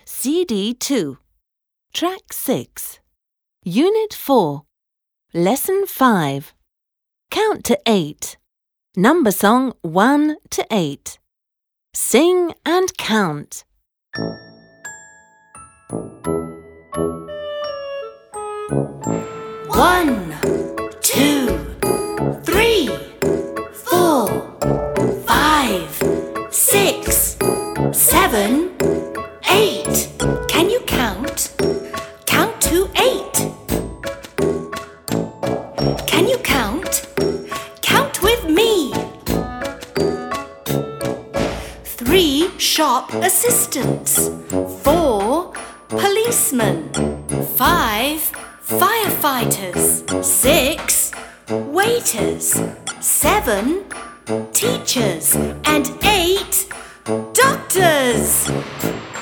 CD2, Track 6, Unit 4, Lesson 5. Count to 8. Number song 1 to 8. Sing and count. 1, 2, 3, 4, 5, 6, 7, 8. Can you count? Count to 8. Can you count? Count with me. 3 shop assistants. 4 policemen. 5 firefighters. 6 waiters. 7 teachers. And 8 doctors.